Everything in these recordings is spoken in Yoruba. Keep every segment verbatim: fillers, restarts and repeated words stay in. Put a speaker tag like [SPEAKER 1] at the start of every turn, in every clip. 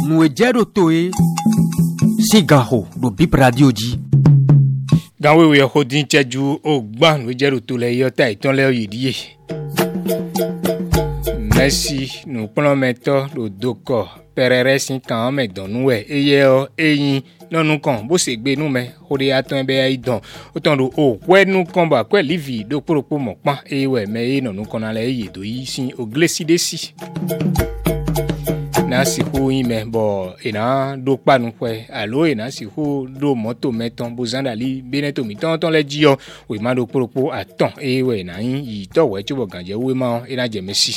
[SPEAKER 1] nous ejero toe sigaho do bip radio ji
[SPEAKER 2] gawe we hodin cheju ogban we jero to le yo ta itan le oyidie merci nous prenons maintenant le doko perere sin kan me donu e eye o eyin nonu kan bó ṣe gbé nu me ore atan be idan o tan do o kwe nu kan ba kwe livi do poropo mo pan e we me e nonu kan na le ye do yi sin o gleside si na si hu yin me bo ina do pa nu kwe alo ina si hu do moto meton bo zandali beneto mi ton ton le ji o we ma do poropo atan e we na yin yi to we chubo ganje we ma ina je mesi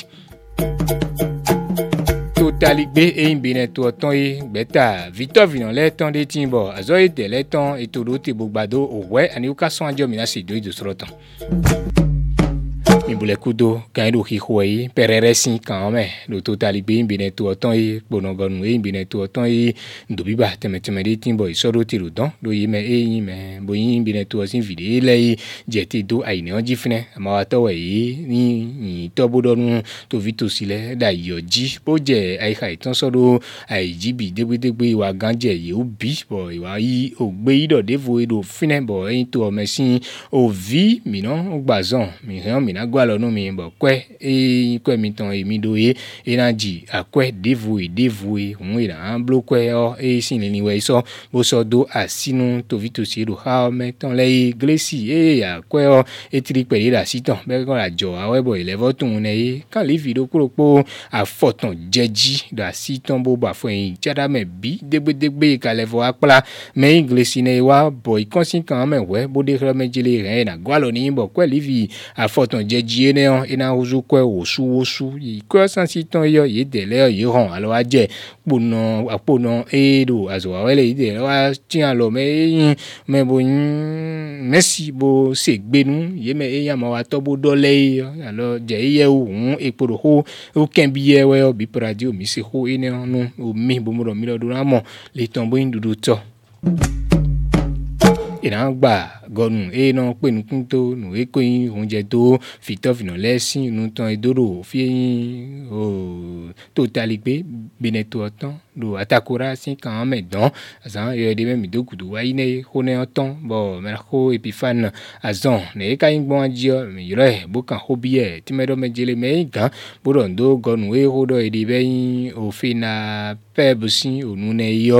[SPEAKER 2] Totaligbe et une bineto ton e beta Victor Vinon le ton de timbo azoy de le ton et todo te bogbado o we ani ukason anjo mina se do de sroton mi bule kudo kan do ki khoi perere sin kan me do Totaligbe une bineto ton e bonogonu e bineto ton e do biba teme teme de timbo so do ti rodon do yime e yin me bo yin bineto sin video le jeti do aine onji fine ma to we ni ni to bodonu to vito sile da yoji bo je ai kai ton so do ai jibi degbe degbe wa ganje ye obi bo wa yi ogbe ido devo do fine bo yin to mesin o vi mi no ogbazon mi han mi na gwa lonu mi bo kwe e kwe mi ton e mi do e energy akwe devo e devo e un ira an blokwe o e sin ni we so bo so do asinu to vito si do ha me ton le glesi e akwe o e tri peri la siton be ko la jo awe bo ile votun ne e kan li video koropo afoton jeji da siton bo ba fo yin chada me bi degbe degbe ka levo apla me glesi ne wa boy konsin kan me we bo de me jile re na gwa lo ni bo kwe livi afoton jeji ne on ina uzu kwe osu osu yi ko san siton yo ye de le yo hon alo aje pono apono e do azo wele ide wa tian lo me yin me bo yin merci bo se gbenu ye me e yan ma wa to bo dole alo je ye un e poro ho o ken bi ye we o bi radio mi se ho ene nu o mi bo mo do mi do ramo le tombo indudu to ina gba gonu e no pe nu kunto nu e ko yin oúnjẹ tó Victor Vinon lesin nu ton edoro fi yin o Totaligbe bineto otan do atakora sin kan me don azan yo de me mi do kudu wa ine ho ne otan bo me ko epifan azan ne ka yin gbon ajio mi re bo kan ho bi e ti me do me jele me gan bo do ndo gonu e ho do e de be yin o fi na pebusin onu ne yo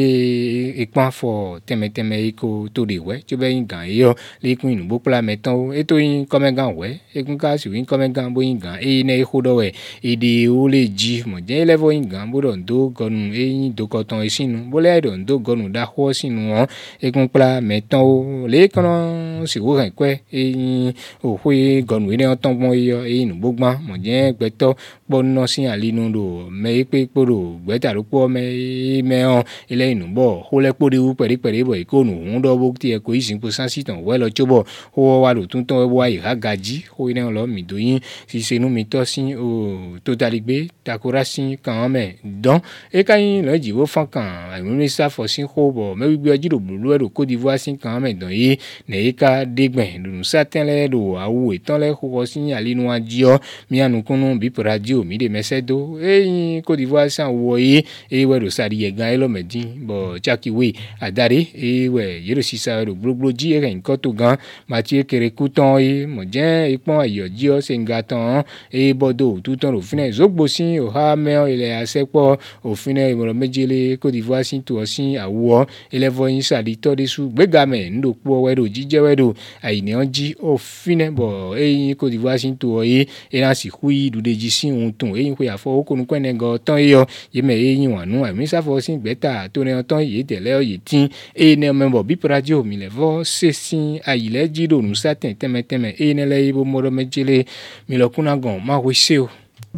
[SPEAKER 2] le ipan fo teme teme ko to de we ti be yin gan yo le kun inu bo pla meton e to yin come gan we e kun ka si yin come gan bo yin gan e ne ho do we e de o le ji mo je level yin gan bo do ndo gonu e yin do ko ton e sinu bo le do ndo gonu da ho sinu won e kun pla meton o le kan si wo ran kwe e yin o hwe gonu ne ton gbon yo e inu gbogban mo je gbeto no sin alinu do me pe poro gbeta ro po me me on ile inu bo ho le pori u peri peri bo ikonu un do bo ti e ko isin po sansitan we lo chobo ho wa lo tun ton wa iha gaji ho ine lo mi do yin si se nu mi to sin o Totaligbe takora sin kan me don e kan yin lo jiwo fan kan minister for sin ho bo me gbe oji do bulu e do Côte d'Ivoire sin kan me don yi ne e ka degben do satin le do awu etan le ho sin alinu ajio mi anu kunu bi radio mi de mesedo e Côte d'Ivoire san wo yi e we do sari ye gan e lo medin bo chakiwe adare e we yero sisa do gbogbo ji e nkan to gan Mathieu Kerekuton e mo je ipon ayoji o se ngatan e bodo tuton ro fine zogbo sin o ha me ile asepo o fine imoro mejele Côte d'Ivoire sin to sin awo ile vo yin sari to de su gbega me ndo po we do jije we do aini onji o fine bo e Côte d'Ivoire sin to e e na si hui du de ji sin un ton e yin ko ya fo o konu kwene go ton yo ye me e yin wanu ami sa fo sin gbeta to ne ton ye tele o ye tin e ne membo bi radio mi le vo se sin ayile ji do nu satin teme teme e ne le ibo moro mejele mi lo kuna gon ma we se o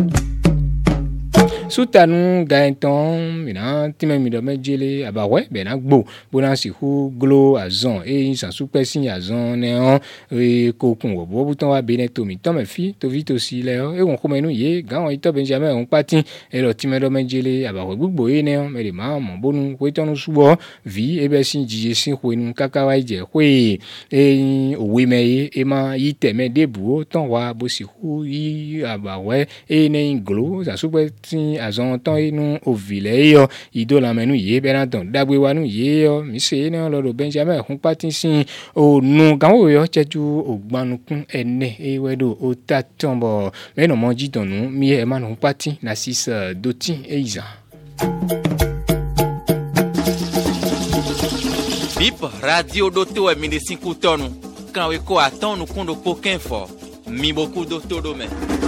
[SPEAKER 2] Soutanu gaeton mina time mi do mejele abawe be na gbo bona si hu glo azon e san super sin azon ne on e kokun wo bo buton wa bene to mi to me fi to vito si le o e won ko menu ye gan ito Benjamin on patin e lo time do mejele abawe gbugbo e ne on me le ma mo bonu ko itonu subo vi e be sin jije sin ko enu kaka wa je ko e owe me ye e ma yi teme debu o ton wa bo si hu yi abawe e ne glo san super sin si azon ton inu ovile yo ido la menu ye benaton dagwe wanu ye yo mi se na lo Benjamin hun pati si o nu gan wo yo cheju ogbanukun ene e wedo o tatombo me no monji tonu mi e man hun pati na sis doti e iza
[SPEAKER 3] Bip radio doto e mine cinco tonu kan we ko atonu kundo poken fo mi boku doto do me